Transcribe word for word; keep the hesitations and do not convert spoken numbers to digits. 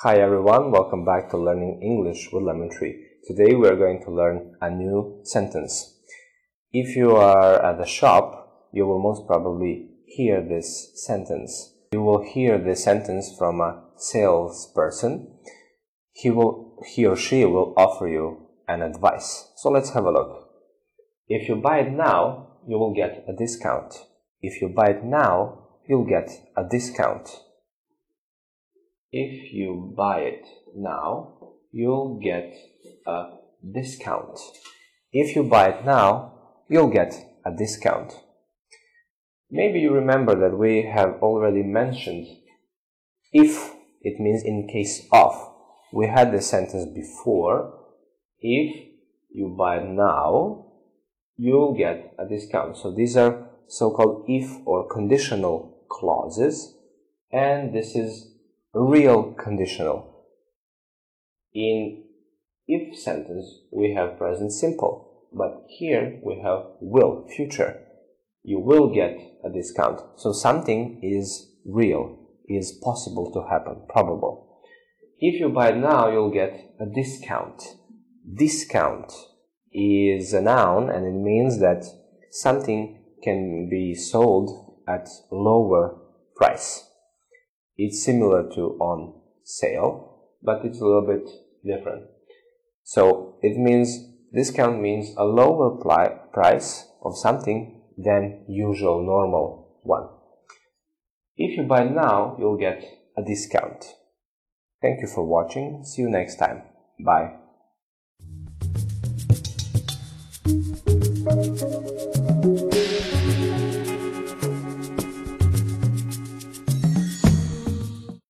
Hi everyone, welcome back to Learning English with Lemon Tree. Today we are going to learn a new sentence. If you are at the shop, you will most probably hear this sentence. You will hear this sentence from a salesperson. He will, he or she will offer you an advice. So let's have a look. If you buy it now, you will get a discount. If you buy it now, you'll get a discount. If you buy it now, you'll get a discount. If you buy it now, you'll get a discount. Maybe you remember that we have already mentioned if. It means in case of. We had this sentence before. If you buy it now, you'll get a discount. So these are so-called if or conditional clauses, and this is real conditional. In if sentence, we have present simple, but here we have will, future. You will get a discount. So something is real, is possible to happen, probable. If you buy it now, you'll get a discount. Discount is a noun, and it means that something can be sold at lower price. It's similar to on sale, but it's a little bit different. So it means, discount means a lower price of something than usual normal one. If you buy now, you'll get a discount. Thank you for watching. See you next time. Bye.